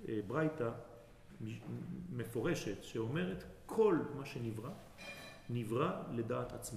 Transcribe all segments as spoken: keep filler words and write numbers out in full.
ברייתא מפורשת שאומרת כל מה שנברא, נברא לדעת עצמו.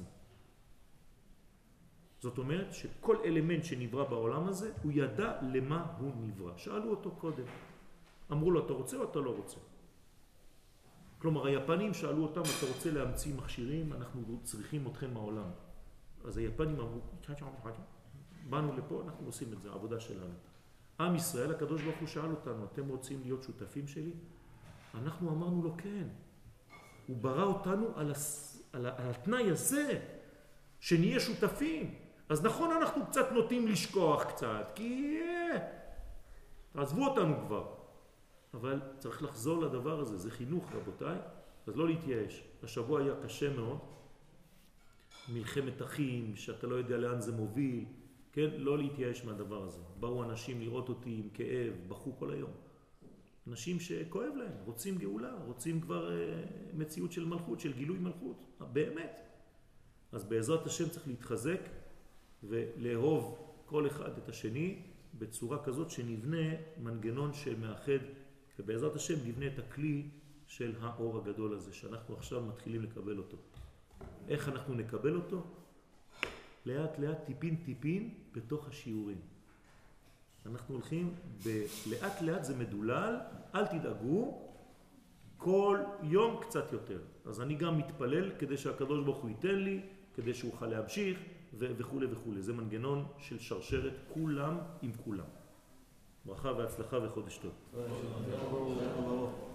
זאת אומרת שכל אלמנט שנברא בעולם הזה, הוא ידע למה הוא נברא. שאלו אותו קודם. אמרו לו, אתה רוצה או אתה לא רוצה? כלומר, היפנים שאלו אותם, אתה רוצה להמציא מכשירים, אנחנו צריכים אתכם מהעולם. אז היפנים אמרו, באנו לפה, אנחנו עושים את זה, העבודה שלנו. עם ישראל, הקדוש ברוך הוא שאל אותנו, אתם רוצים להיות שותפים שלי? אנחנו אמרנו לו כן. הוא ברא אותנו על, הס... על, ה... על התנאי הזה, שנהיה שותפים. אז נכון, אנחנו קצת נוטים לשכוח קצת, כי תעזבו אותנו כבר. אבל צריך לחזור לדבר הזה, זה חינוך רבותיי, אז לא להתייאש. השבוע היה קשה מאוד, מלחמת אחים, שאתה לא יודע לאן זה מוביל, כן? לא להתייאש מהדבר הזה. באו אנשים לראות אותי עם כאב, בכו כל היום. אנשים שכואב להם, רוצים גאולה, רוצים כבר אה, מציאות של מלכות, של גילוי מלכות, באמת. אז בעזרת השם צריך להתחזק ולאהוב כל אחד את השני בצורה כזאת שנבנה מנגנון שמאחד, ובעזרת השם נבנה את הכלי של האור הגדול הזה, שאנחנו עכשיו מתחילים לקבל אותו. איך אנחנו נקבל אותו? לאט לאט, טיפין טיפין, בתוך השיעורים. אנחנו הולכים, ב... לאט לאט זה מדולל, אל תדאגו, כל יום קצת יותר. אז אני גם מתפלל כדי שהקדוש ברוך הוא ייתן לי, כדי שהוא יוכל להמשיך ו... וכו' וכו'. זה מנגנון של שרשרת כולם עם כולם. ברכה והצלחה וחודש טוב.